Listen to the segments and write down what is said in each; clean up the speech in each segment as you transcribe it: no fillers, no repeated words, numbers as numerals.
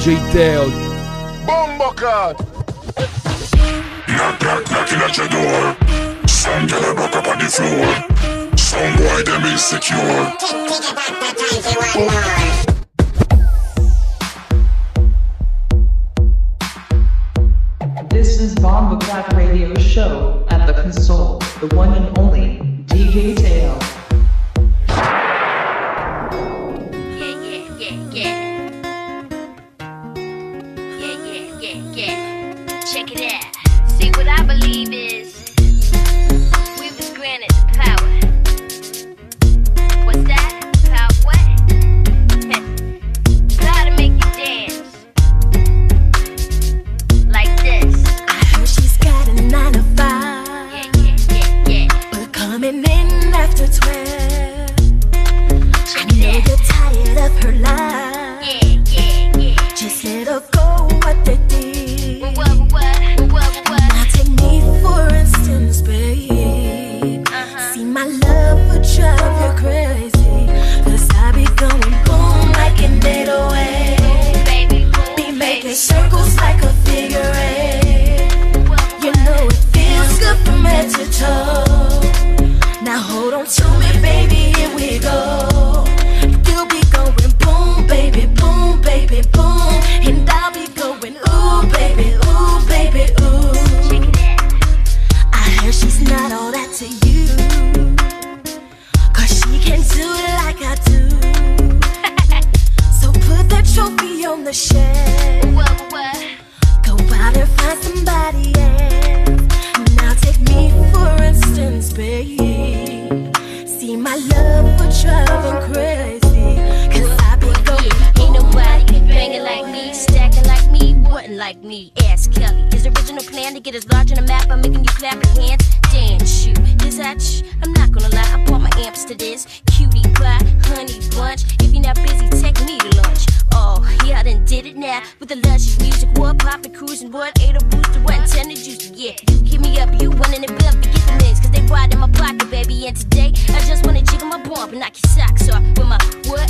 DJ Teo. Bombo cut. Knock, knock, knocking at your door. Some girl broke up on the floor. Some boy them insecure. Think about the times you want more. This is Bomba Clap Radio Show. At the console, the one and only DJ Teo. Check it out. See, what I believe is we was granted the power. What's that? Power what? Power to make you dance like this. I heard she's got a 9 to 5. Yeah. But coming in after 12. I Check know it you're out. tired of her lies. Yeah. Just let her go what they did. What? Now take me for instance, babe. See, my love would drive you crazy. 'Cause I be going boom like an 808. Baby, Be making circles like a figure 8. You know it feels good from head to toe. Now hold on to me, baby, here we go. You'll be going boom, baby, boom, baby, boom. And I'll be going ooh, baby, ooh, baby, ooh. I heard she's not all that to you. 'Cause she can do it like I do. So put that trophy on the shelf. What? Go out and find somebody else. Now take me for instance, babe. See, my love would drive him crazy. 'Cause I be going Ain't nobody banging like me, stacking like me, wasn't like me. Ask Kelly. His original plan to get us large on the map by making you clap your hands. Dance you. Is that I'm not gonna lie, I bought my amps to this. Cutie pie, honey bunch. If you're not busy, take me to lunch. Oh, yeah, I done did it now. With the luscious music, what poppin', cruising, what? 8 booster, what? 10 juice, yeah. You give me up, you running it up, forget the names. 'Cause they ride in my pocket, baby. And today, I just wanna jiggle my bump and knock your socks off. With my what?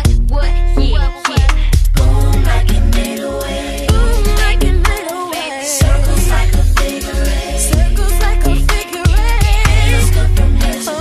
Yeah. boom like an 808. Boom like an 808. Circles like a figure 8. Circles like a figure 8. Feels good from head to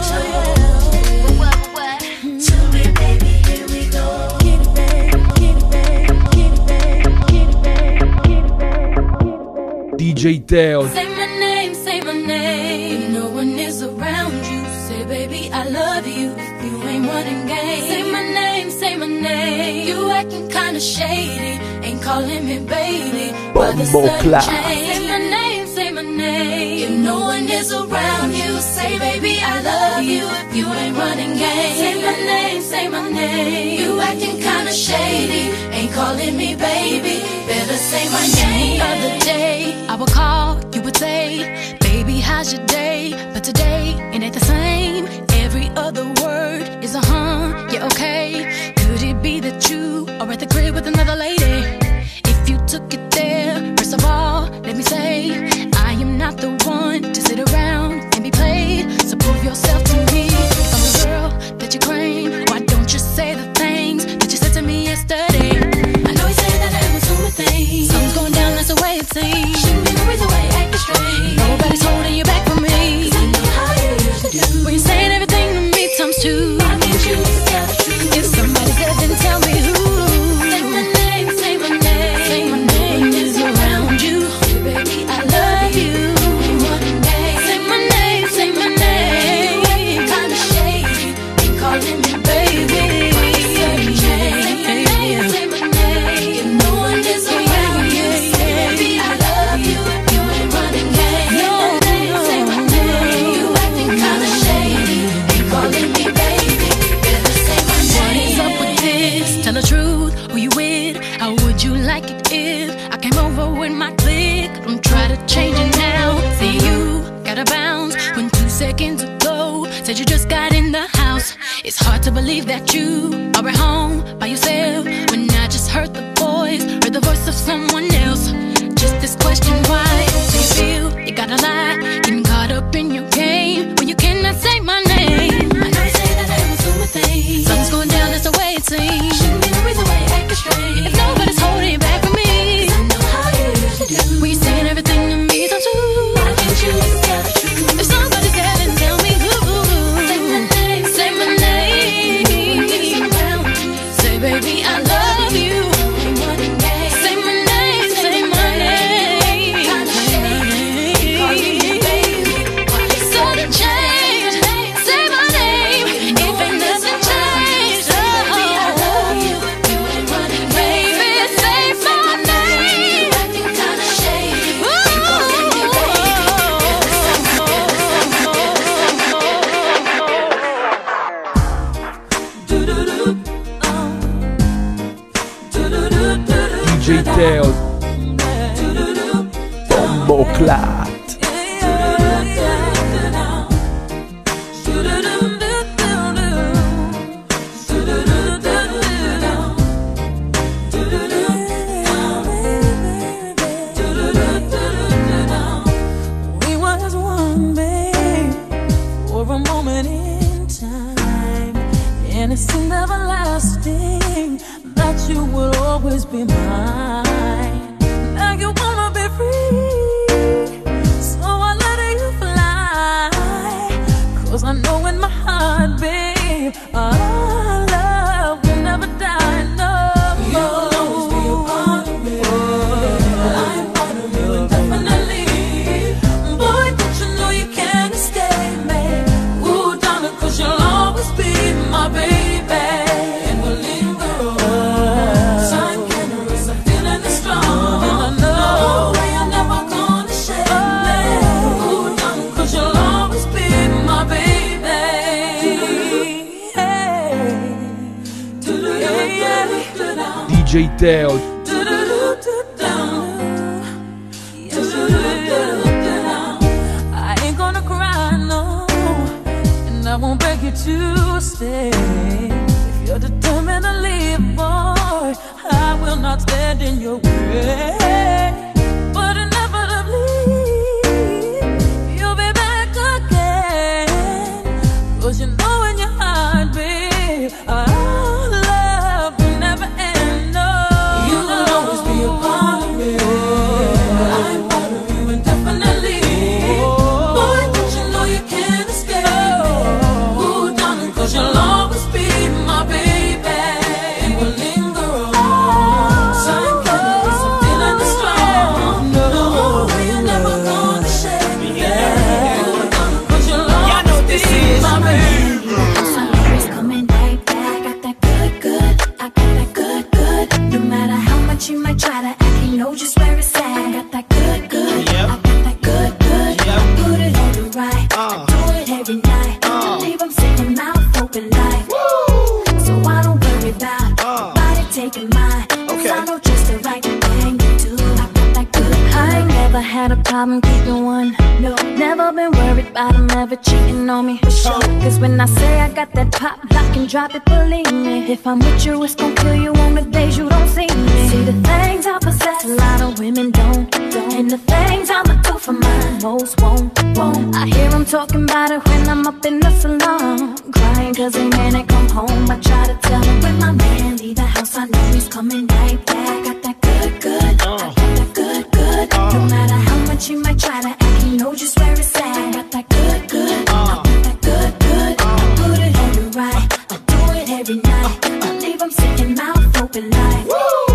toe. What? To me, baby, here we go. Get it, babe, get it, babe, get it, babe, get it, babe, get it, babe. DJ Teo. Say my name, say my name. If no one is around you, say, baby, I love you. If you ain't running game, say my name, say my name. You acting kinda shady, ain't calling me baby. But the Bombo sun clap. changed. Say my name, say my name. If no one is around you, say, baby, I love you. If you ain't running game, say my name, say my name. You acting kinda shady, ain't calling me baby. Better say my name. The other day, I would call, you would say, baby, how's your day? But today, it ain't the same. Every other word is a yeah, okay. Could it be that you are at the crib with another lady? If you took it there, first of all, let me say, I am not the one to sit around and be played. So prove yourself to me. If I'm the girl that you claim, why don't you say the things that you said to me yesterday? I know you say that I was doing things. Something's going down, that's the way it seems. Shouldn't be the reason why you're acting strange. Nobody's holding you back from me. 'Cause I know how you used to do. When you're saying everything to me times two. I need you to tell the truth. If somebody's there, then tell me who. Say my name, say my name. Say my name is around you. Baby, I love you. Say my name, say my name. Kinda shady, ain't calling me baby. Say my name, say my name. If no one is around you, say baby, I love you. If you ain't running game, say my name. You acting kinda shady, ain't calling me baby. Better say my name. What is up with this? Tell the truth, who you with? How would you like it if I came over with my clique? Don't try to change it now. See, you gotta bounce when 2 seconds ago said you just got in the house. It's hard to believe that you are at home by yourself when I just heard the voice of someone else. Just this question, why do you feel you gotta lie? Getting caught up in your game when you cannot say my name. I know you say that I was doing things. Something's going down, that's the way it seems. Shouldn't be the reason why you acting strange. If nobody's holding back from be mine. Now you wanna be free, so I let you fly. 'Cause I know in my heart, babe, our love will never die, no. You'll always be a part of me. I'm part of you indefinitely. Boy, don't you know you can't escape me. Ooh, darling, 'cause you'll always be my baby. And we'll linger on. Time can't erase the feeling is strong. And I know you're never gonna shake me. Ooh, darling, 'cause you'll always be my baby. DJ Teo. I ain't gonna cry, no, and I won't beg you to stay. If you're determined to leave, boy, I will not stand in your way. But inevitably, you'll be back again. 'Cause you know in your heart, babe, our love will never end, no. You will always be a part of me. I'm part of you indefinitely. Boy, don't you know you can't escape me. Ooh, darling, 'cause you'll always be my baby. And we'll linger on. Time can't erase the feeling that's strong. No, you're never gonna shake me. Ooh, darling, 'cause you'll always be my baby. Summer's coming right back. Got that good, good. I got that good, good. No matter how much you might try to act, you know just where it's at. I got that good, good. I got that good, good. I put it on the right. I do it every night. I leave 'em sitting mouth open like. So I don't worry about nobody taking mine. 'Cause I know just the right thing to do. I got that good. I ain't never had a problem keeping one. No, never been worried about him ever cheating on me. For sure. 'Cause when I say I got that pop, lock and drop it, believe me. If I'm with you, it's gon' kill you on the days you don't see me. See the things I possess, a lot of women don't. And the things I'ma do for mine, most won't. I hear them talking about it when I'm up in the salon, crying 'cause they man ain't come home. I try to tell him when my man leave the house, I know he's coming right back. Got that good, good. I got that good, good. No matter how much you might try to act, you know just where it's at. Got that good, good. I got that good, good. I put it on the right. I do it every night. I leave 'em sitting mouth open like.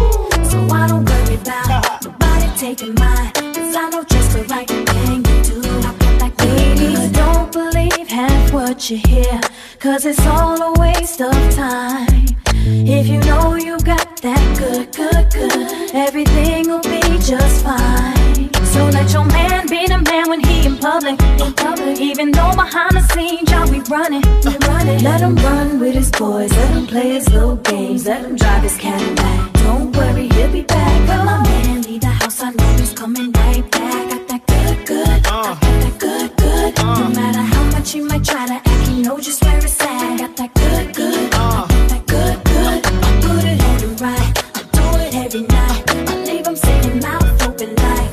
So I don't worry about nobody taking mine. 'Cause I know just the right thing to do. I got that good, good. Don't believe half what you hear, 'cause it's all a waste of time. If you know you got that good, good, good, everything will be just fine. So let your man be the man when he in public. Even though behind the scenes y'all be running. Let him run with his boys, let him play his little games, let him drive his Cadillac. Don't worry, he'll be back. When my man leave the house, I know he's coming right back. Got that good, good. I got that good, good. No matter how much you might try to act, you know just where it's at. Got that good, good. I got that good, good. I put it on the right. I do it every night. I leave 'em sitting mouth open like.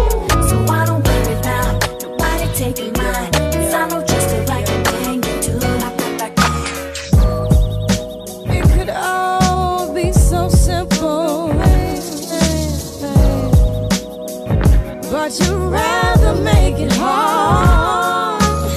So I don't worry about nobody taking mine. 'Cause I know just the right thing to do. I got that good. It could all be so simple, but you'd rather make it hard.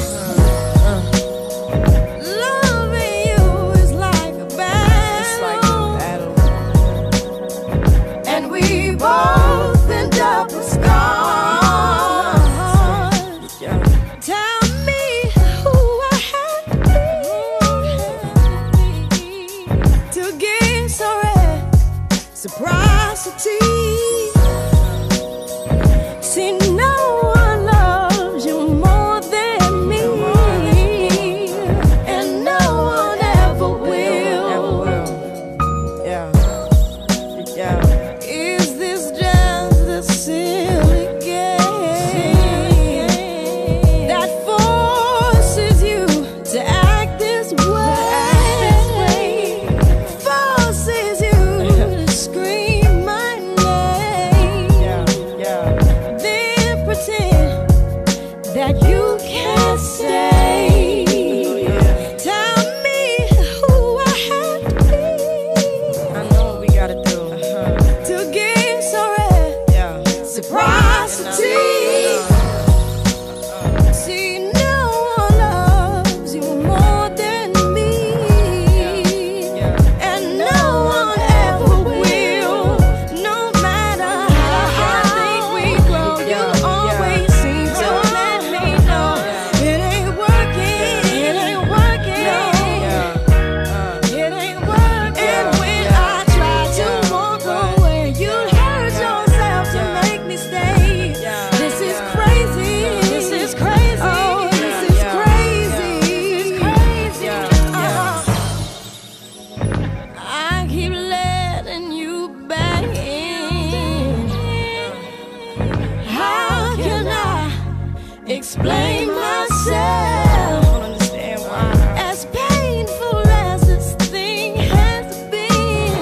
explain myself. don't understand why. As painful as this thing has been,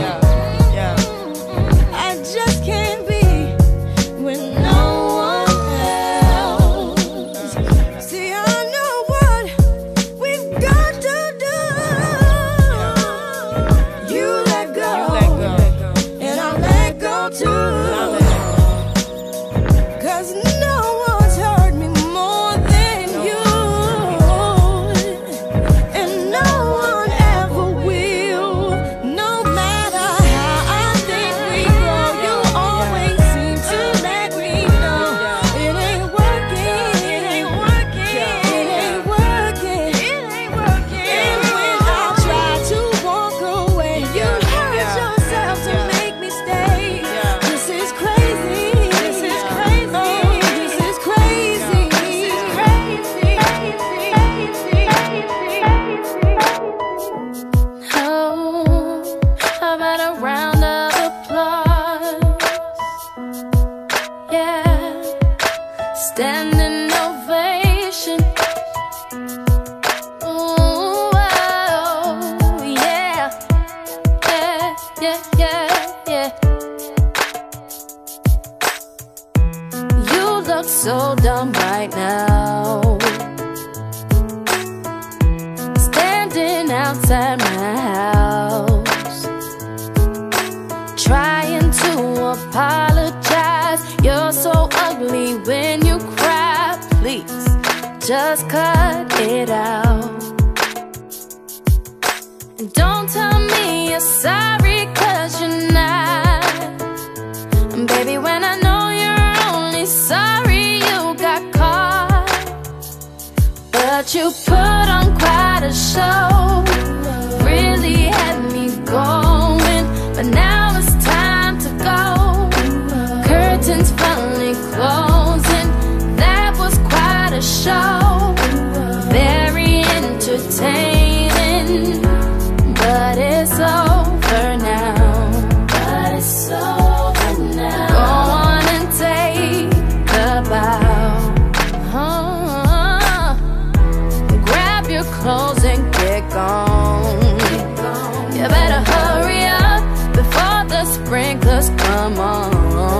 I just can't be with no one else. See, I know what we've got to do. You let go, and I'll let go too. 'Cause no one's hurt me more than you, and no one ever will. No matter how I think we go, you always seem to let me know it ain't working, it ain't working, it ain't working, it ain't working. And when I try to walk away, you hurt yourself to make me stay. This is crazy, this is crazy, oh, this is crazy, this is crazy, Oh, how about a round of applause? Yeah, standing ovation. Ooh, oh, yeah, yeah. You look so dumb right now, standing outside my house, trying to apologize. You're so ugly when you cry. Please, just cut it out. And don't tell me you're sorry, 'cause you're not. And baby, when I know you're only sorry you got caught, but you put on quite a show, really had me going. But now it's time to go. Curtains finally closing. That was quite a show, very entertaining. But it's over now. But it's over now. Go on and take a bow. Grab your clothes and get gone. You better hurry up before the sprinklers come on.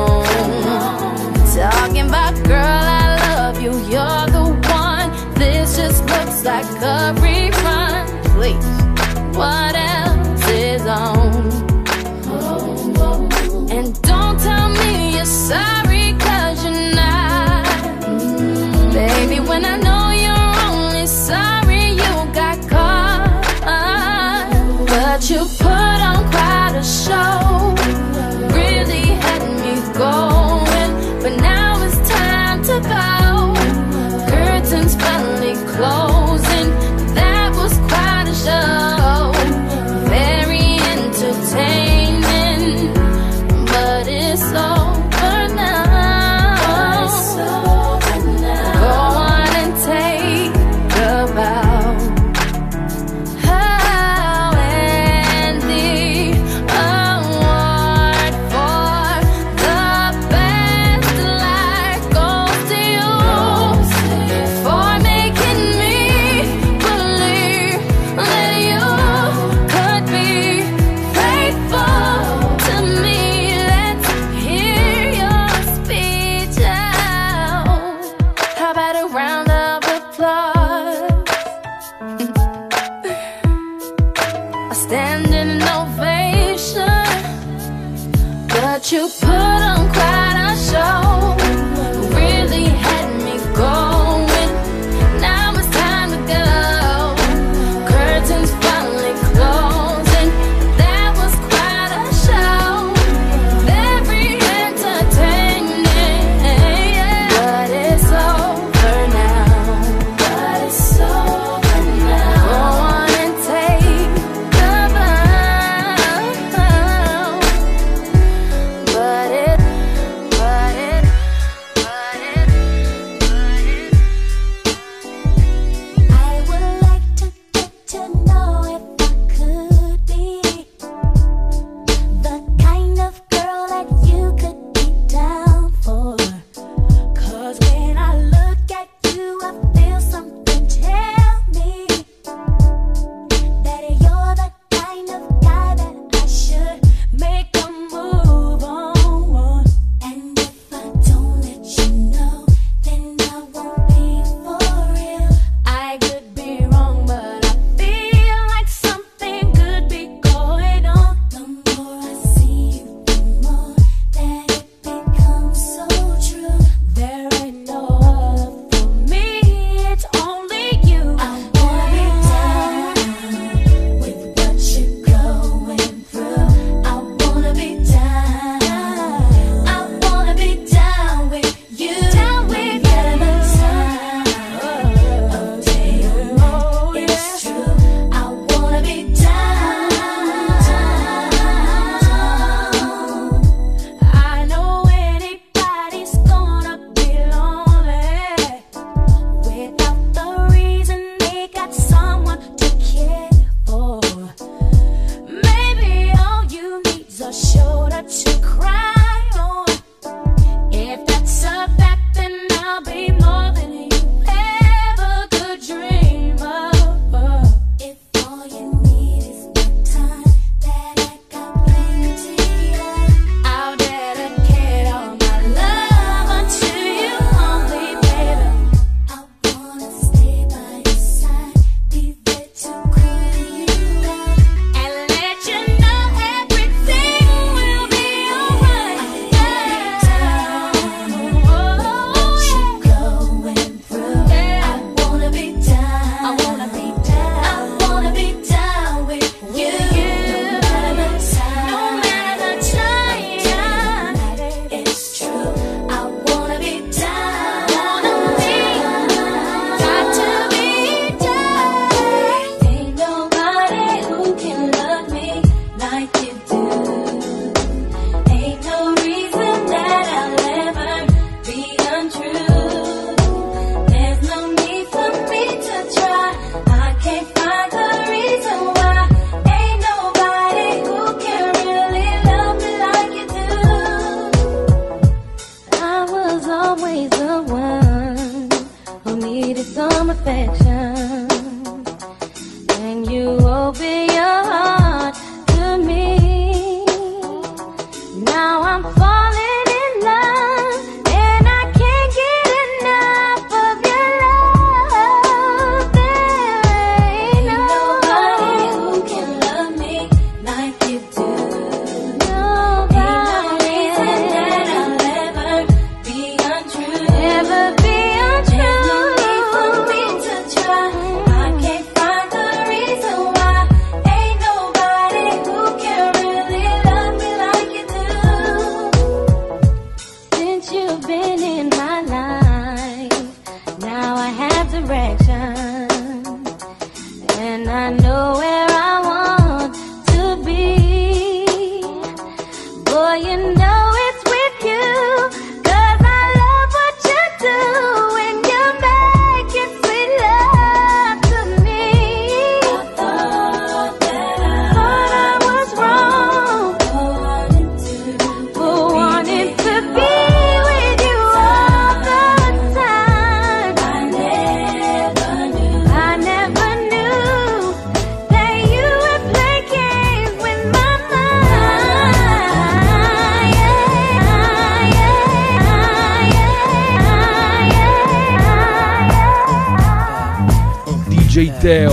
Talking about, girl, I love you, you're the one. This just looks like a rerun. Please, what else is on? And don't tell me you're sorry, 'cause you're not. Baby, when I know you're only sorry you got caught, but you put on quite a show, really had me going. But now it's time to go. Curtains finally closing. That was quite a show, very entertaining. But it's over now. Go on and take a bow. Oh, and the award for the best life goes to you, for making me believe that you could be faithful to me. Let's hear your speech out. How about a round of applause? A standing ovation, but you put on quite a show, really had me going. Now it's time to go. Curtains finally closing. That was quite a show, very entertaining. But it's over now. But it's over now. Go on and take the bow. But needed some affection, and you open your heart to me. Now I'm falling in love, and I can't get enough of your love. There ain't nobody who can love me like you do. Nobody. Ain't no reason that I'll ever be untrue. Ever be untrue. There's no need for me to try. I can't find the reason why. Ain't nobody who can really love me like you do. Since you've been in my life, now I have direction, and I know where I want to be. Boy, you know it's with you, 'cause I love what you do when you make it sweet love to me. I thought I was wrong for wanting to be with you all the time. I never knew that you would play games with my mind. DJ Teo.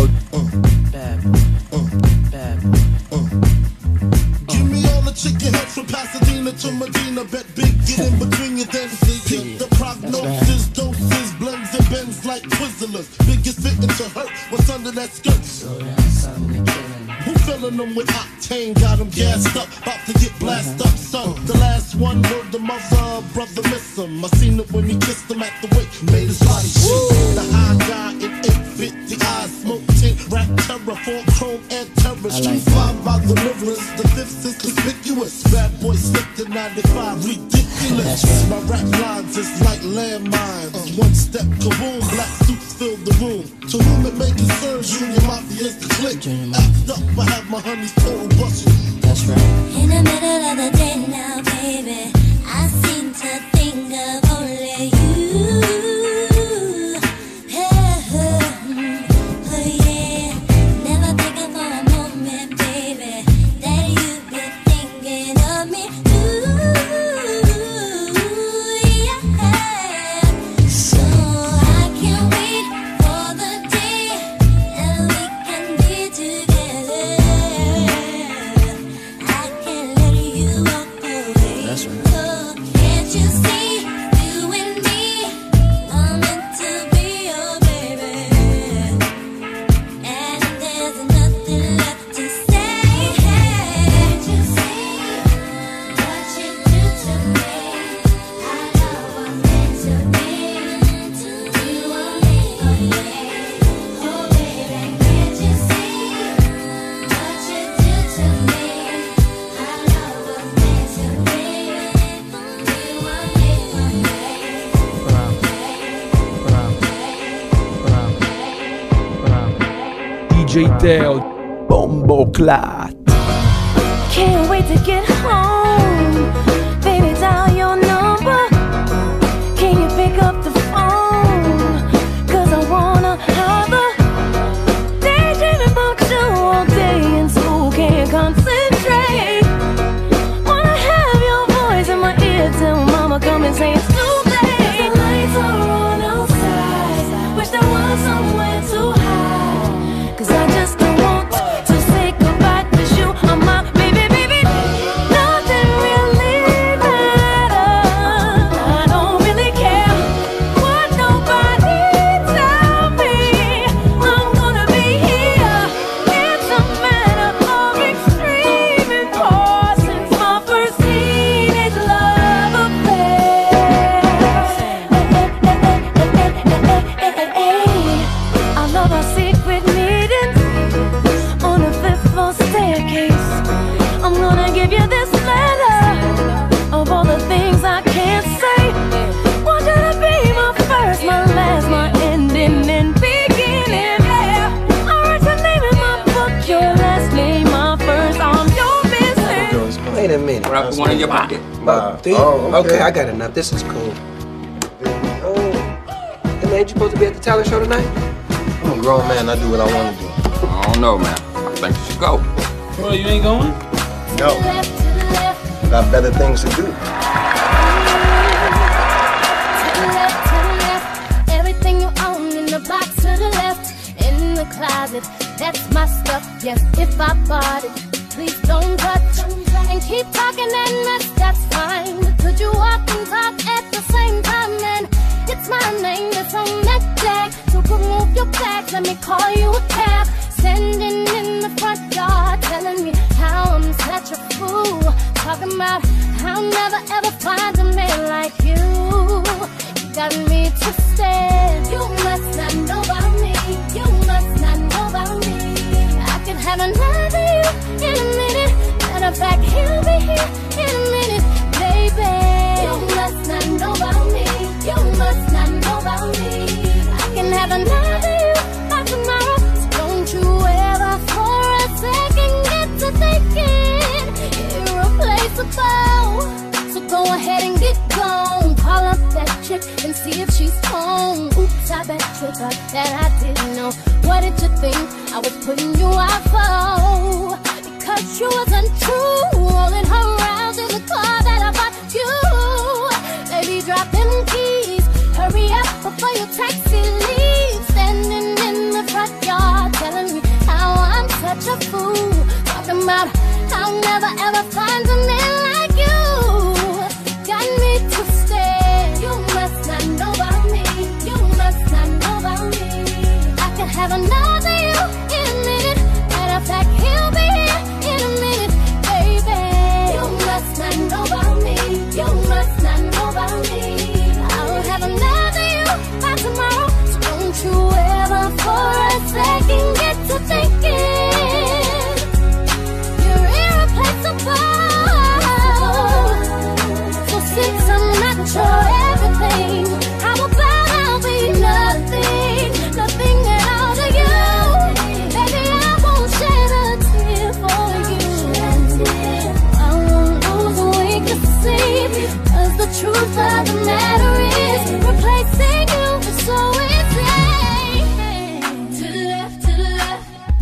Give me all the chicken heads from Pasadena to Medina. Bet big, get in between you, then get the prognosis, doses, blends and bends like Twizzlers. Biggest fitting to hurt, what's under that skirt? Who filling them with octane? Got them gassed up, about to get blasted up, son. The last one word the mother, brother miss him. I seen it when he kissed him at the wake, made his body shake. The high guy in 850 eyes, smoke tint, rap terror, full chrome and terror. Street five by the rivers, the fifth is conspicuous. Bad boy slipped in 95, ridiculous. My rap lines is like landmines. One step, kaboom, black suits fill the room. To whom it may concern, Junior Mafia's the click. Act up, I have my honeys total bustin'. That's right. In the middle of the day now, baby, I seem to think of only you. Oh yeah, never thinking for a moment, baby, that you'd be thinking of me too. Yeah, so I can't wait for the day that we can be together. I can't let you walk away. That's right. Oh, can't you see, you and me are meant to be your baby, and there's nothing left to say. Can't you see what you do to me? I know I'm meant to be. You are me, oh yeah. Oh baby, can't you see what you do to me? I know I'm meant to be. You are me, oh DJ Teo. Bombo Clat. Can't wait to get home. Baby, dial your number. Can you pick up the phone? 'Cause I wanna have a daydreaming about you all day in school. Can't concentrate. Wanna have your voice in my ear till mama come and say it's too late. The lights are on outside. Wish there was somewhere to hide. 'Cause I just don't want to say goodbye. 'Cause you are my baby, baby. Nothing really matters. I don't really care what nobody tell me. I'm gonna be here. It's a matter of extreme importance. My first teenage love affair. I love our secret meetings on the 5th floor staircase. I'm gonna give you this letter of all the things I can't say. Want you to be my first, my last, my ending and beginning. Yeah, I write your name in my book, your last name, my first. I'm your business. Wait a minute. Put one in your pocket. Okay, I got enough. This is cool. Let ain't you supposed to be at the talent show tonight? I'm a grown man, I do what I want to do. I don't know, man. I think you should go. Well, you ain't going? No. Got better things to do. Everything you own in the box to the left, in the closet, that's my stuff. Yes, if I bought it, please don't touch. And keep talking and mess, that's fine. But could you walk and talk at the same time? And it's my name that's on that tag. So remove your bags, let me call you a cab. Standing in the front yard, telling me how I'm such a fool. Talking about how I'll never ever find a man like you. You got me twisted. You must not know about me. You must not know about me. I could have another you in a minute. Matter of fact, he'll be here in a minute, baby. You must not know about me. You must not know about me. I can have another you by tomorrow. So don't you ever for a second get to thinking irreplaceable. So go ahead and get gone. Call up that chick and see if she's home. Oops, I bet you thought that I didn't know. What did you think I was putting you out for? Because you was untrue, rolling her around in the car that I bought you. Baby, drop them keys, hurry up before your taxi leaves. Standing in the front yard, telling me how I'm such a fool. Talking about how I'll never ever find a man like you. Got me twisted. You must not know about me. You must not know about me. I could have another you in a minute. Matter of fact, he'll be here in a minute, baby. You must not know about me. You must not know about me. I'll have another you by tomorrow. So don't you ever for a second get to thinking you're irreplaceable. So since I'm not your everything, how about I'll be nothing, nothing at all to you? Baby, I won't shed a tear for you. I won't lose a wink of sleep, 'cause the truth of the matter is replacing you is so easy. To the left, to the left.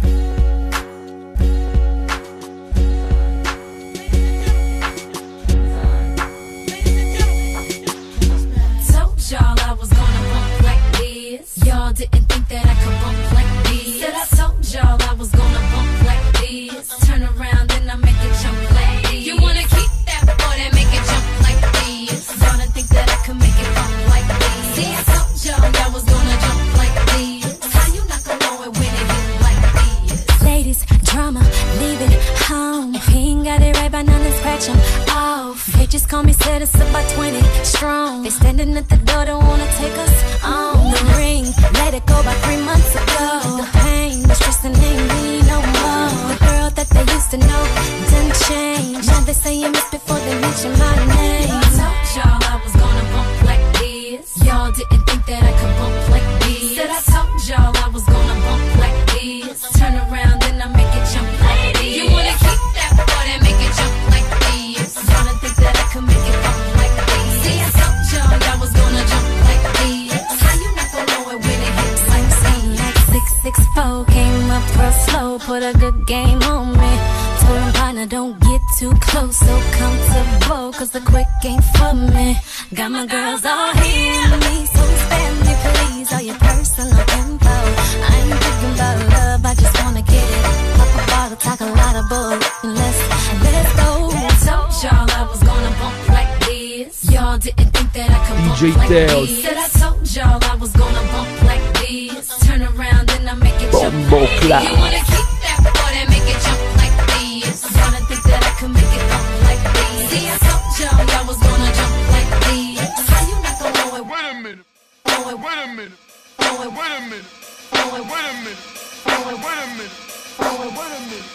Told y'all I was gonna bump like this. Y'all didn't think that I could bump like this. Said I told y'all I was gonna bump like this. Turn around and I make it jump like this. You wanna keep that boy that make it jump like this. Y'all didn't think that I could make it bump like this. See, I told y'all I was gonna jump like this. How you not gonna know it when it hit like this? Ladies, drama, leaving home. If he ain't got it right by now, then scratch him off. They just call me said it's about 20 strong. They standing at the door, don't wanna take us on. The ring, let it go by 3 months ago. The pain, the stress, and ain't me no more. The girl that they used to know didn't change. Now they say you miss before they mention my name. I told y'all I was gonna bump like this. Y'all didn't think that I could bump like this. Said I told y'all I was gonna bump like this. Turn around and I make it jump like this. You wanna keep that boy that make it jump like this. Y'all didn't think that I could make it bump like this. See, I told y'all I was gonna jump like this. How you not gonna know it when it hits like this? Like 664 came up real slow, put a good game on me. Told him partner, don't get too close, so comfortable, 'cause the quick ain't for me. Got my girls all here with me, so spare me please all your personal info. I ain't thinking about love, I just wanna get it. Pop a bottle, talk a lot of bull, and let's go. I told y'all I was gonna bump like this. Y'all didn't think that I could bump DJ like Teo. this. Said I told y'all I was gonna bump like this. Turn around and I make it jump Bombo like this. clap. You wanna keep that boy that make it jump like this. Y'all didn't think that I could make it bump like this. See, I told y'all I was gonna jump like this. How you not gonna know it? Wait a minute. Know it, Wait a minute. know it, Wait a minute. know it, Wait a minute. know it, Wait a minute. know it. Wait a minute.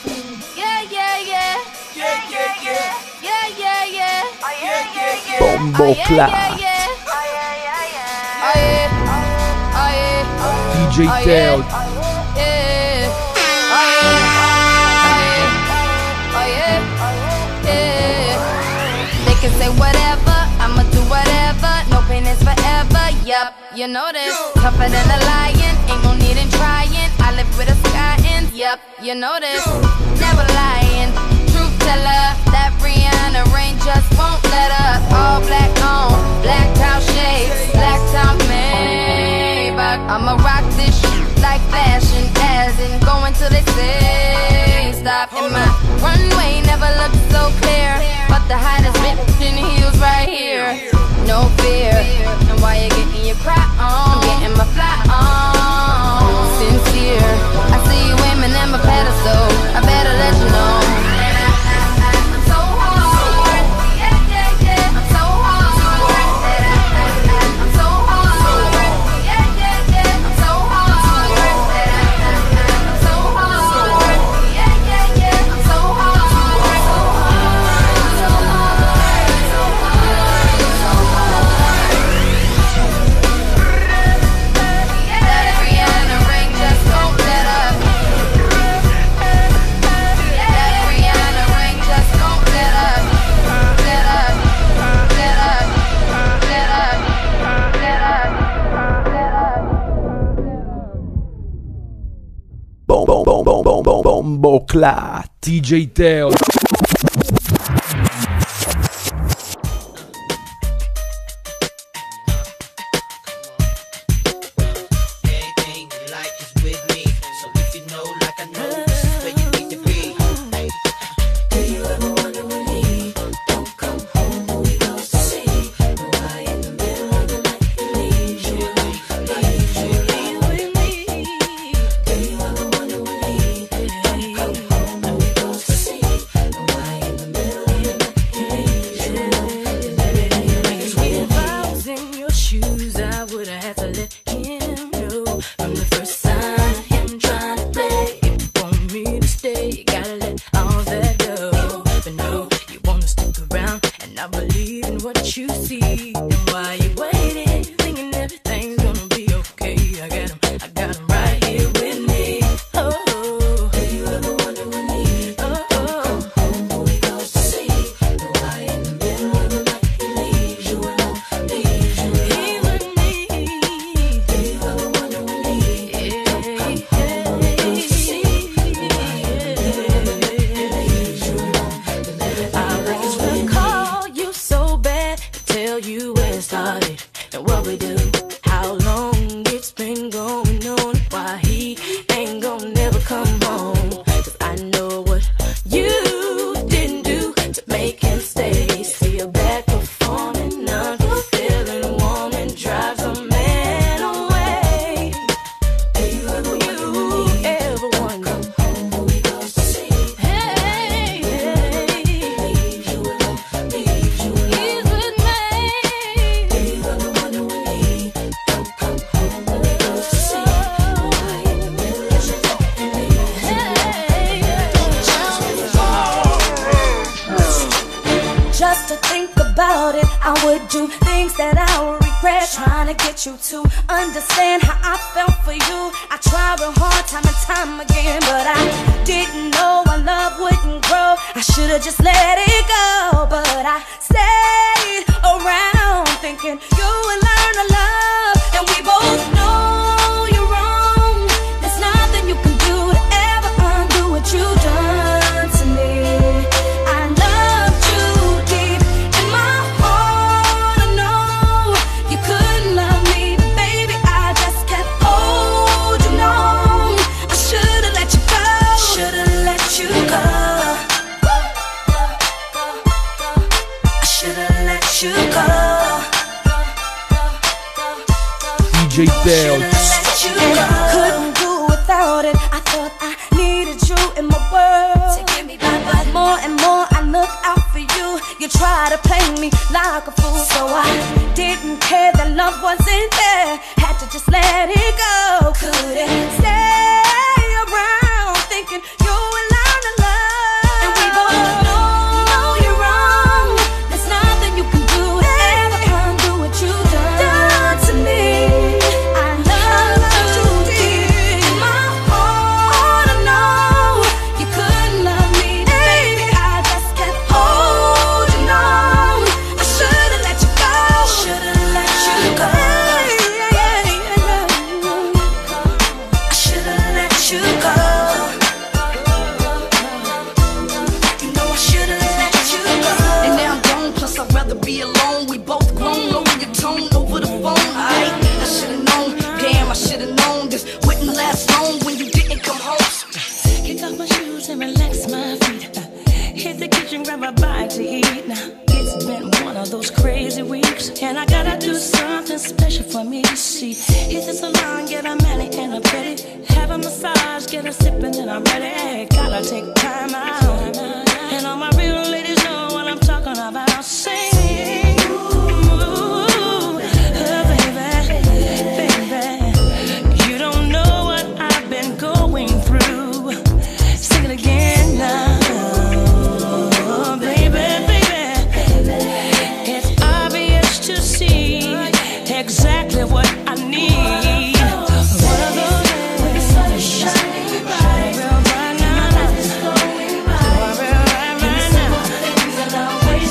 Yeah, yeah, yeah. Yeah, yeah, yeah. Yeah, yeah, yeah. Yeah, yeah, yeah. Bombo clap. DJ Teo. They can say whatever, I'ma do whatever. No pain is forever. Yup, you know this. Tougher than a lion, ain't no need in trying. I live with a sky and yep, you know this. Never lying, truth teller. That Rihanna rain just won't let up. All black on, black out shades, black out Maybach. I'ma rock this shit like fashion, as in going till they say stop. And my runway never looked so clear, but the hottest bitch in heels right here. No fear, and while you're getting your cry on, I'm getting my fly on. Sincere, I see you aiming at my pedestal, I better let you know. I'm so hard, yeah, yeah, yeah. I'm so hard, I'm so hard, yeah, yeah, yeah. I'm so hard, I'm so hard, yeah, yeah, yeah. I'm so hard, so hard, so hard, so hard, so hard. That Rihanna ring just won't let up. That Rihanna ring just won't let up. Let up, let up, let up, let up, let up. Bomboclat, DJ Teo. Everything you like is with me. So if you know, like I know, this is where you need to be. Do you ever wonder when he don't come home? Who he goes to see? And why in the middle of the night he leaves you alone? Leaves you alone with me. Do you ever wonder when he don't come home? Who he goes to see? And why in the middle of the night he leaves you alone? If I was in your shoes, I would have had to let him know from the first sign. Him trying to play. If you want me to stay, you gotta let all that go. But no, you wanna stick around, and I believe in what you see. And why you waiting, thinking everything's gonna be okay? I got him right here with me. Oh, do you ever wonder when he don't come home? Who he goes to see? And why in the middle of the night he leaves you alone? Leaves you alone. he with me. Do you ever wonder when he don't come home? Who he goes to see? And why in the middle of the night he leaves you alone? I wanna call you so bad to tell you where it started and what we do, how long it's been going on, why he ain't gonna never come home. 'Cause I know what you didn't do to make him stay. See you back performing, unfulfilling woman drives a man away. Do you ever wonder when he Ever wonder? come home? Who he goes to see? Hey, Leaves you alone. Leaves you alone. he's with me. Do you ever wonder when he don't come home? Who he goes to see? And why in the middle of the night he leaves you alone? Just to think about it, I would do things that I would regret. Trying to get you to understand how I felt for you. I tried real hard time and time again, but I didn't know our love wouldn't grow. I should've just let it go, but I stayed around thinking you would learn to love. And we both know you're wrong. There's nothing you can do to ever undo what you've done to me. I loved you deep in my heart. I know you couldn't love me, but baby, I just kept holding on. I should've let you go. Should've let you go. I should've let you go. DJ Teo. And I couldn't do without it. I thought I needed you in my world. But more and more I look out for you. You try to play me like a fool, so I didn't care that love wasn't there. Had to just let it go. Couldn't stay around thinking you would learn to love. And we both know you're wrong. There's nothing you can do to ever undo what you've done to me. I love you deep in my heart. I know you couldn't love me, baby. I just kept holding on. I should've let you go. Should've let you go. last long when you didn't come home. Kick off my shoes and relax my feet. Hit the kitchen, grab a bite to eat. Now it's been one of those crazy weeks, and I gotta do something special for me. See, hit the salon, get a mani and a pedi, have a massage, get a sip and then I'm ready. Gotta take time out, and all my real ladies know what I'm talking about. Sing, ooh, baby, baby, you don't know what I've been going through. Sing it again now. Exactly what I need. One of those days, sun is shining bright, real bright now. Going by, real right now. Things that always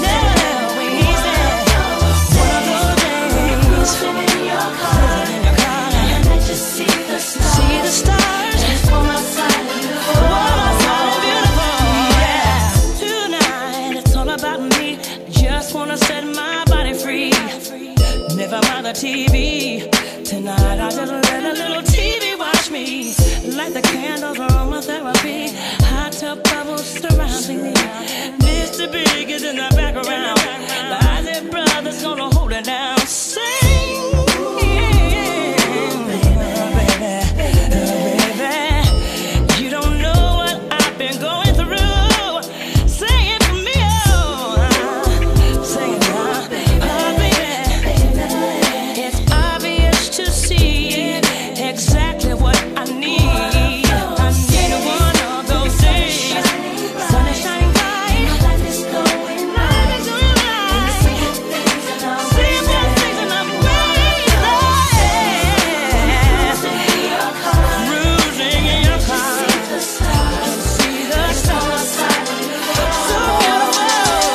one of those days, sitting in your car, and I just see the stars. See the stars. It's for my side and beautiful. Yeah. Tonight it's all about me. Just wanna set my body free. Never mind the TV. Tonight I just let a little TV watch me. Light the candles, aromatherapy. Hot tub bubbles surrounding me. Mr. Big is in the background. The Isaac Brothers gonna hold it down. Sing, baby. You don't know what I've been going through. Sing it for me, oh. Sing it now. To see exactly what I need. I need one of those days. Sun is shining bright. Life is going right. Simple things and I'm cruising in your car. See the stars. So beautiful.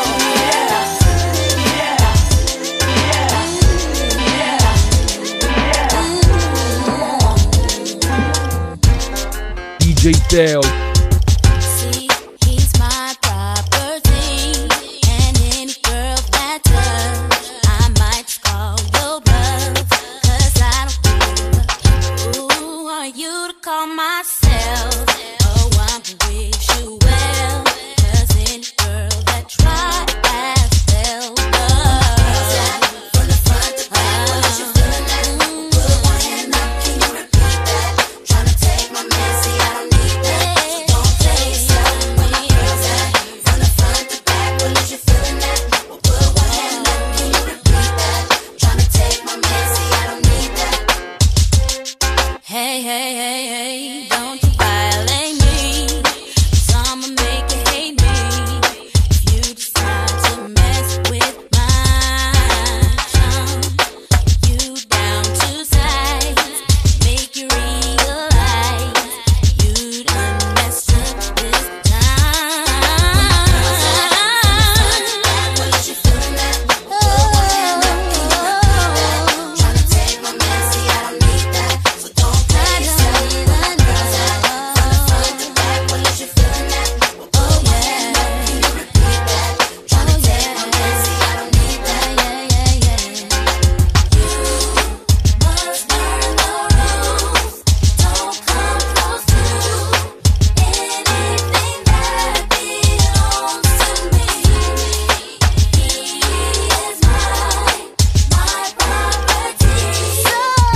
DJ Teo. See, he's my property, and any girl that does, I might call your bluff, 'cause I don't give who are you to call myself. Oh, I'm gonna wish you well, 'cause any girl that tries has failed. From the front to back, what you feeling that? Put one hand up, can you repeat that? Tryna take my man, see I don't need that. So don't play yourself when you hear that. From the front to back, what is you feeling that? Well, put one hand up, can you repeat that? Tryna take my man, see I don't need that. Hey, hey, hey, hey, don't you violate me, 'cause I'ma make you hate me if you decide to mess with my chum. You down to size, make you realize you done messed up this time. What is you feeling that? Put one hand up, can you repeat that? Tryna take my man, see I don't need that. So don't play yourself when the girls out. From the front to back, what is you feeling that? Well, put one hand up, can you repeat that? Tryna take my man, see I don't need that. You must learn the rules. Don't come close to anything that belongs to me. He is my property. So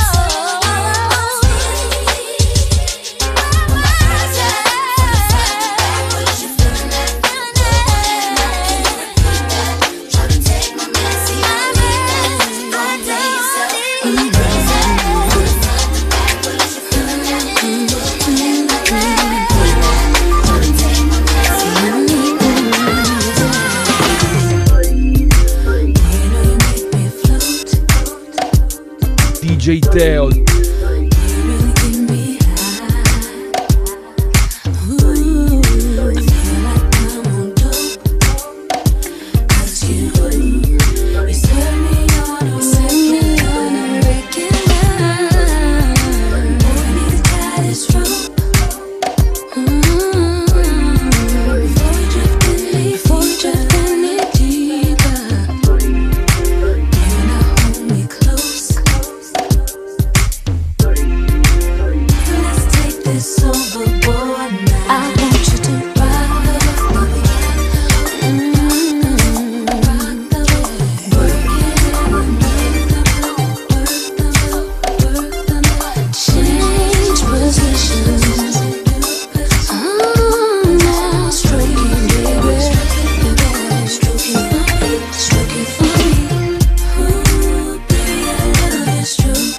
what is you feeling that? Put one hand up, can you repeat that? Tryna take my man, see I don't need that. Don't play yourself when the girls out. From the front to back, what is you feeling that? Put one hand up, can you repeat that? Tryna take my man, see I don't need that. DJ Teo. this overboard now. I want you to rock the boat. Rock the boat. Work it, change positions. Now stroke it, baby. Stroke it for me, stroke it for me. Ooh, baby, I love your stroke.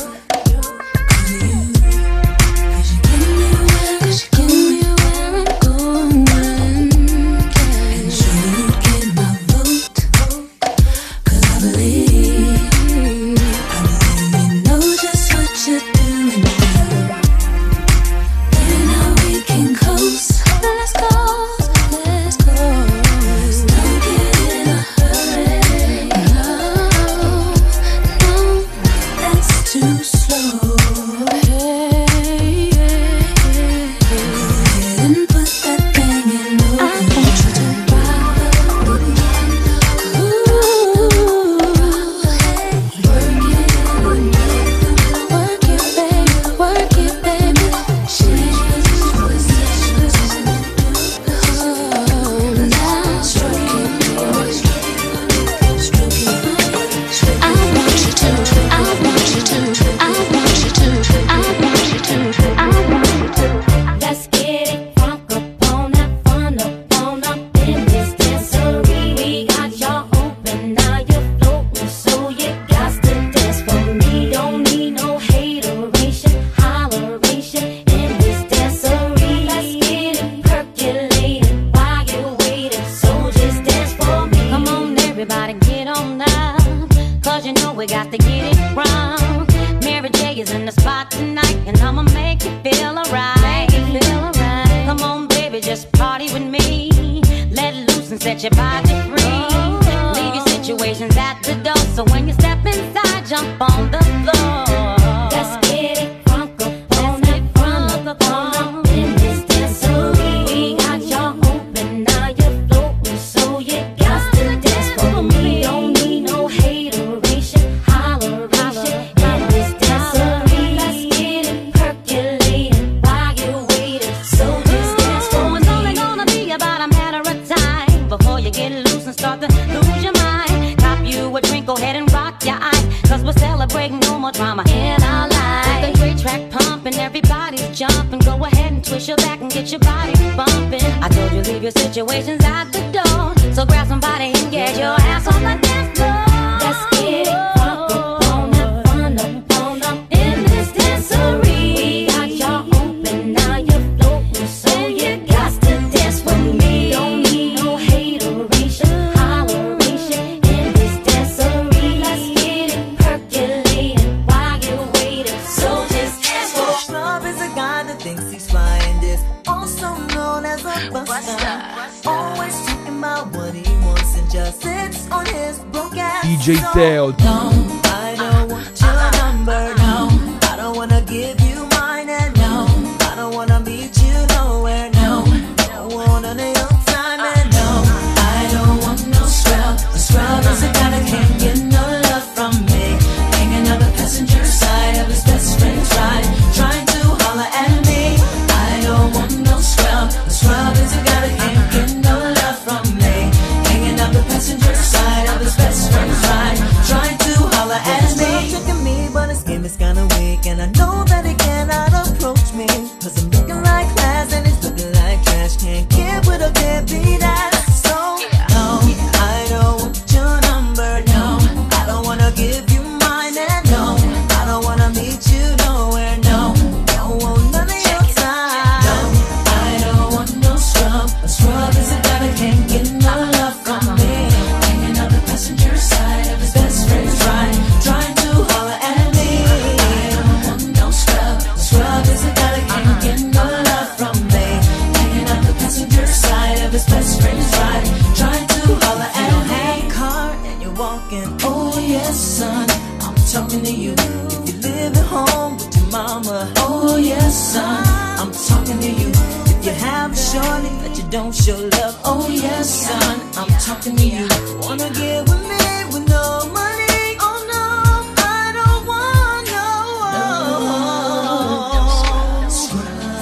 DJ Teo. No, I don't want your number, no. I don't wanna give you mine, and no, I don't wanna meet you nowhere, no. Don't want none of your time, and no, I don't want no scrub. A scrub is a guy that can't get no love from me. Hanging on the passenger side of his best friend's ride, trying to holler at me. I don't want no scrub. A scrub is a guy that can't get no love from me. Hanging on the passenger side of his best friend's ride, trying to holler at me. Tricking me, but his game is kinda weak, and I know that he cannot approach me, 'cause I'm looking like class and he's looking like trash. Can't get with a can't be that. So no, I don't want your number, no. I don't wanna give you mine, and no, I don't wanna meet you nowhere, no. Don't want none of your time. No, I don't want no scrub. A scrub is a guy that can't get no love from me. Hanging on the passenger side of his best friend's ride, trying to holler at me. I don't want no scrub. A scrub is a guy that can't get no love from me. Hanging on the passenger side of his best friend's ride, trying to holler at me. Hey, car, and you're walking. Oh yes, son, I'm talking to you. If you live at home with your mama. Oh yes, son, I'm talking to you. If you have a shorty that you don't show love. Oh yes, son, I'm talking to you. Wanna get with me with no money? Oh no, I don't want no scrub.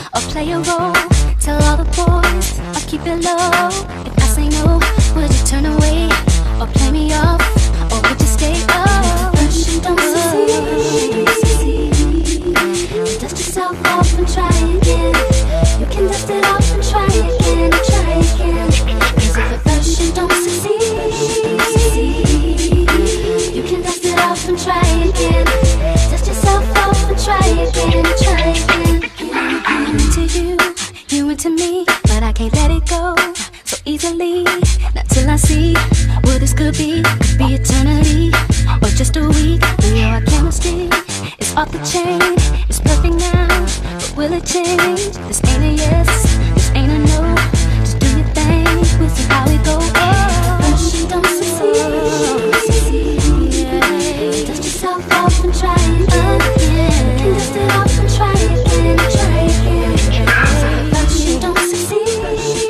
or play a role? Tell all the boys I'll keep it low. If I say no, would you turn away or play me off, or would you stay up? First you don't succeed, dust yourself off and try again. You can dust it off and try again, try again. Cause if at first you don't succeed, you can dust it off and try again. Dust yourself off and try again, try again. I'm into you, you into me, but I can't let it go so easily. Not till I see what this could be eternity or just a week. Our chemistry is off the chain, it's perfect now, but will it change? This ain't a yes, this ain't a no. Just do your thing, we'll see how we go. First you don't succeed, dust yourself off and try again. You can dust it off and try again, try again. First you don't succeed,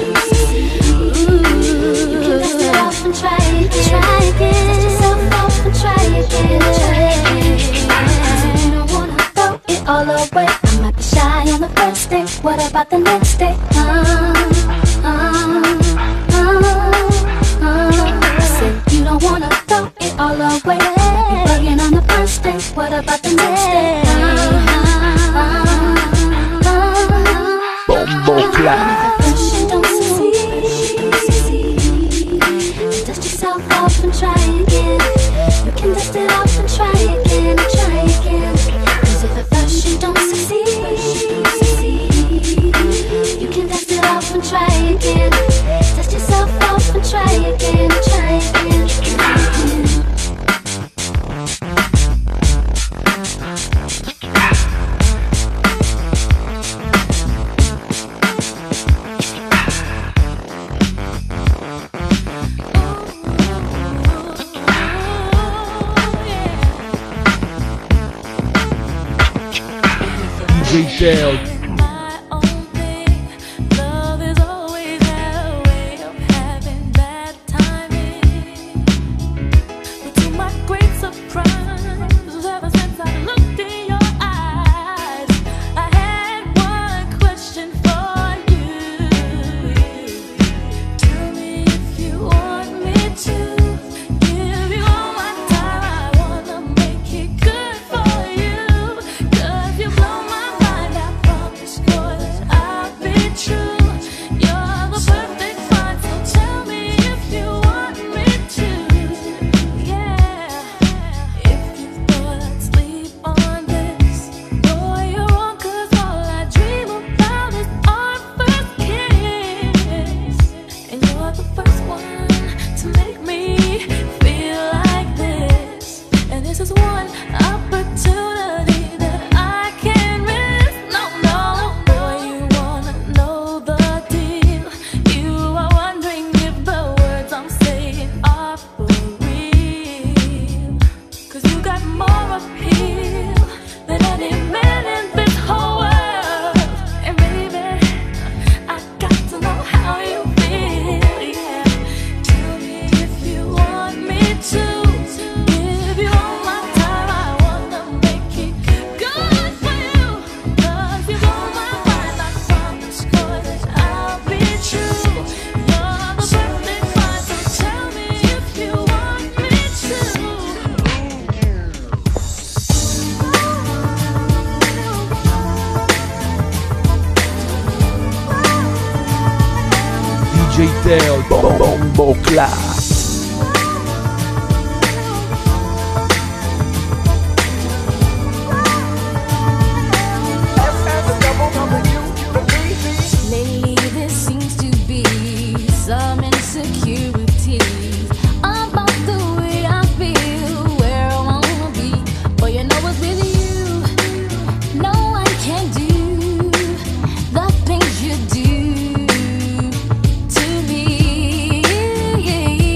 you can dust it off and try again, try again. Dust yourself off and try again, try again. You don't wanna throw it all away. I might be shy on the first day, what about the next day? I said you don't wanna throw it all away. You're bugging on the first day, what about the next day? Bombo Clap. First you don't succeed, dust yourself off and try again. You can dust it off and try again, try again. Cause if at first you don't succeed, you can dust it off and try again. Dust yourself off and try again, try again, try again. DJ Teo. DJ Teo, Bombo Clap. Lately there seems to be some insecurity about the way I feel, where I wanna be. But you know what's with you, no one can do the things you do to me.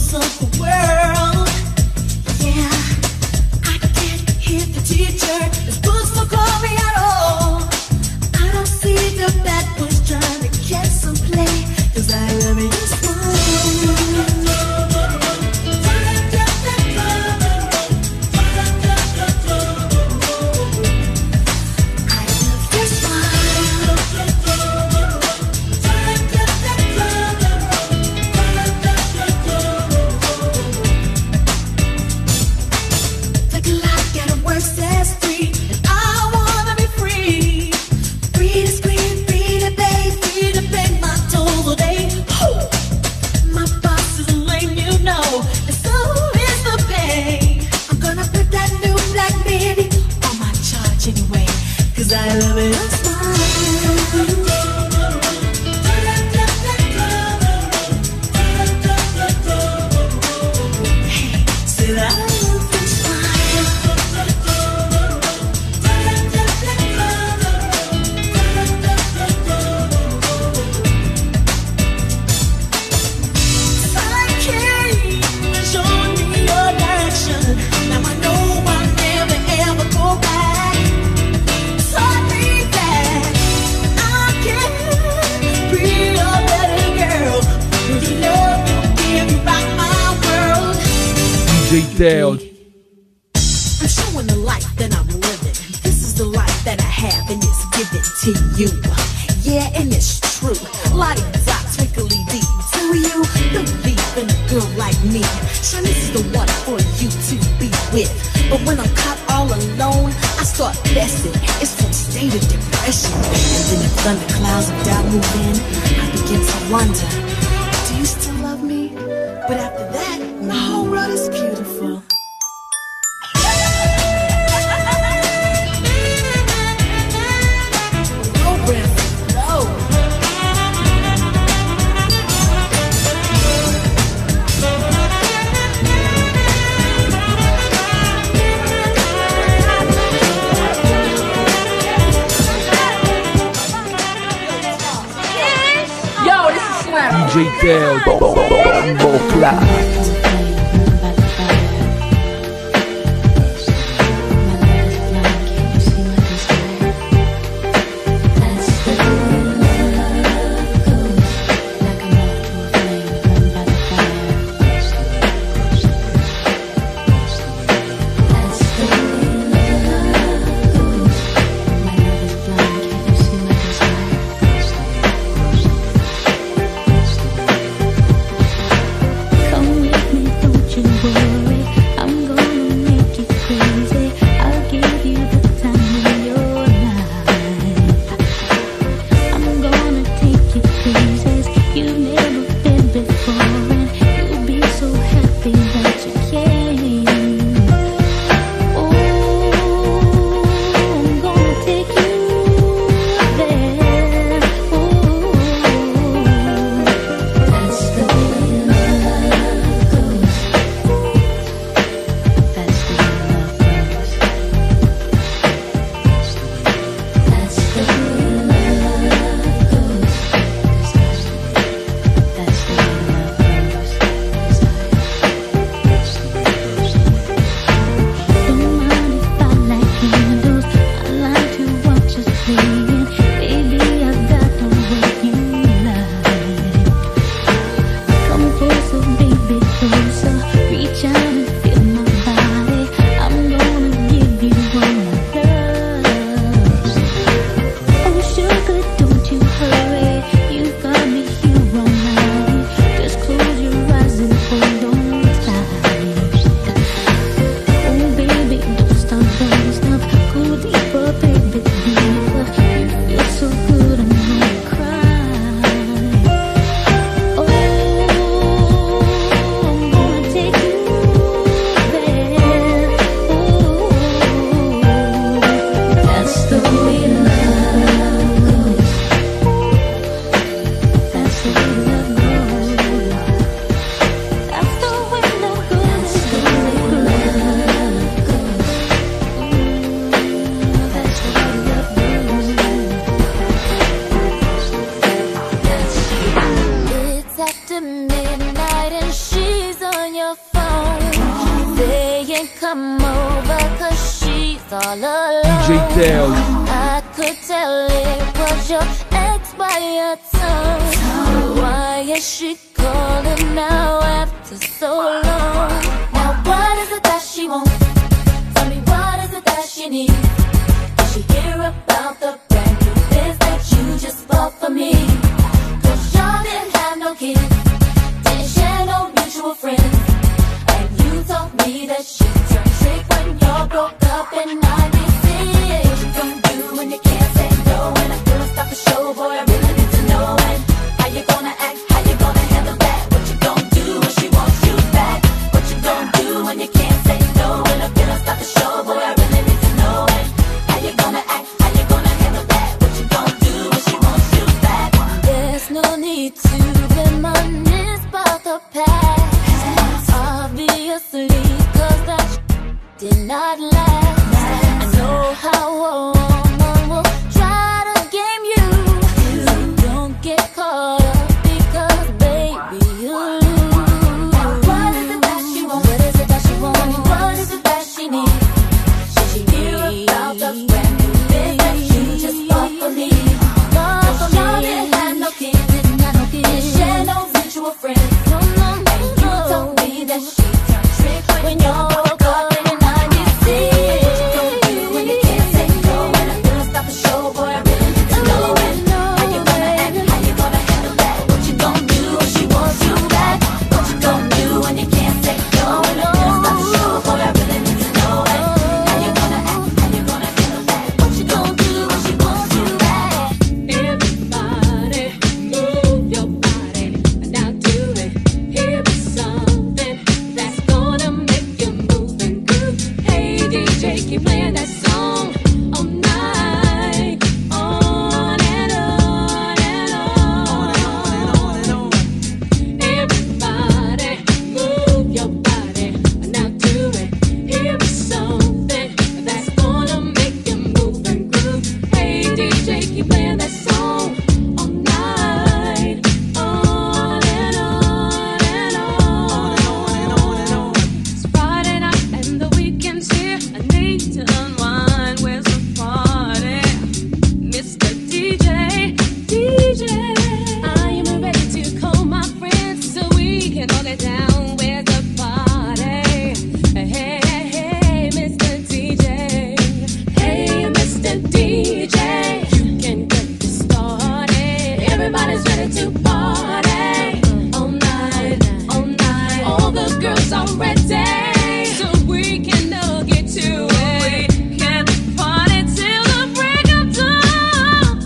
rules of the world. Yeah, I can't hear the teacher. It's books for glory at all. I don't see the bad boys trying to get some play, 'cause I love you smile. I love it, I smile. Hey, said I love it, smile. Psyche, show me your direction. Now I know I'll never ever go back. DJ Teo. I'm showing the life that I'm living. This is the life that I have, and it's given to you. Yeah, and it's true. Lottie-da, twinkly deep. Do you believe in a girl like me? Sure, this is the one for you to be with. But when I'm caught all alone, I start blessing. It's from state of depression. And then the thunderclouds of doubt move in. I begin to wonder, do you still love me? But after that, the whole world is beautiful. DJ Teo, Bombo Clat. Come saying come over cause she's all alone. DJ Teo. I could tell it was your ex by your tongue. Why is she calling now after so long? Now what is it that she wants? Tell me what is it that she needs? Did she hear about the brand new biz that you just bought for me? Cause y'all didn't have no kids, didn't share no mutual friends, and you told me that she turned trick when y'all broke up in 96. What you gonna do when you can't say no? And I feel like stop the show, boy, I really need to know. And how you gonna act, how you gonna handle that? What you gonna do when she wants you back? What you gonna do when you can't say no? And I feel like stop the show, boy, I really need to know. And how you gonna act, how you gonna handle that? What you gonna do when she wants you back? There's no need to reminisce about the past, obviously, cause that did not last. I know how a woman will try to game you, so don't get caught up because baby you lose. Now what is it that she wants? What is it that she wants? What is it that she needs? Should she hear about the brand new biz that you just bought for me? Cause y'all didn't have no kids, didn't share no mutual friends, and you told me that she turned trick when y'all broke up in 96. What you gonna do when you can't say no? And I feel like stop the show, boy, I really need to know. And how you gonna act, how you gonna handle that? What you gonna do when she wants you back? What you gonna do when you can't say no? And I feel like stop the show, boy, I really need to know. And how you gonna act, how you gonna handle that? What you gonna do when she wants you back? Everybody move your body, now do it. Here is something that's gonna make you move and groove. Hey DJ, keep playing that song all night, on and on and on and on. Everybody move your body, now do it. Here is something that's gonna make you move and groove. Hey DJ, keep playing that song all night, on and on and on. It's Friday night and the weekend's here. I need to unwind. Where's the party? Mr. DJ, DJ. I am ready to call my friends so we can all get down. Where's the party? Hey, hey, hey, Mr. DJ. Hey, Mr. DJ. You can get this started. Everybody's ready to party all night, all night. All the girls are ready, so we can all get to it. Can party till the break of dawn.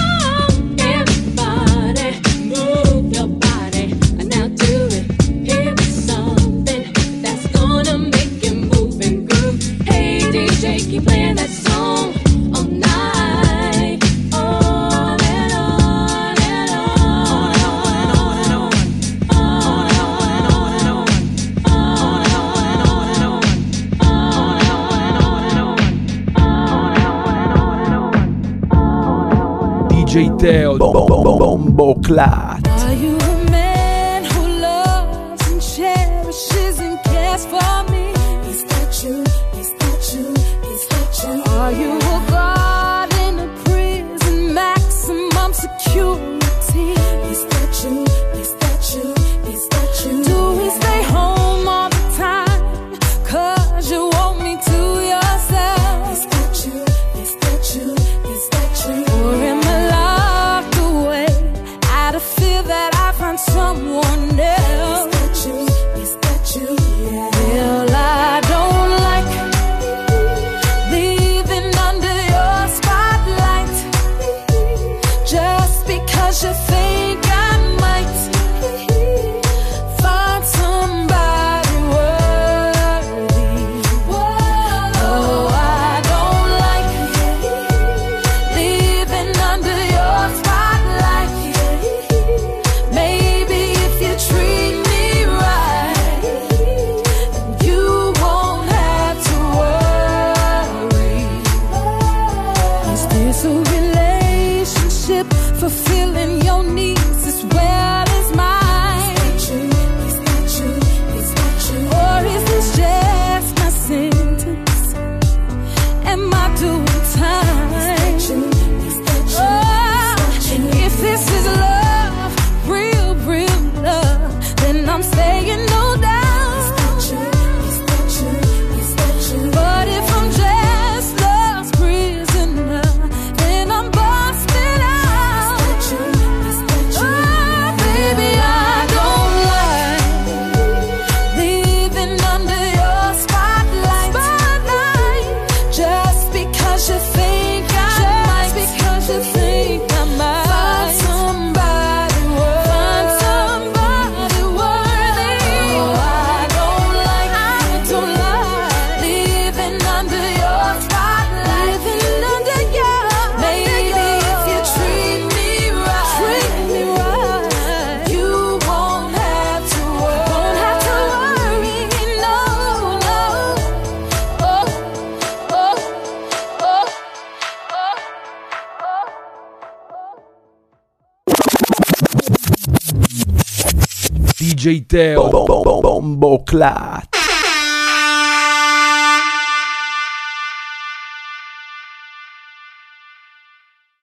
Everybody move your body, now do it. Here is something that's gonna make you move and groove. Hey DJ, keep playing that song all night, on and on and on, DJ Teo. Bombo Clat. Are you a man who loves and cherishes and cares for me? Is that you? Is that you? Is that you? Are you a guard in a prison, maximum security? Is that you? Is that you? Is that you? Do we stay home all the time? Cause you want me to yourself. Is that you? Is that you? Is that you? Or am I locked away out of fear that I find someone else? Is that you? Is that you? Yeah. Well, I don't like leaving under your spotlight just because DJ Teo Bomboclat.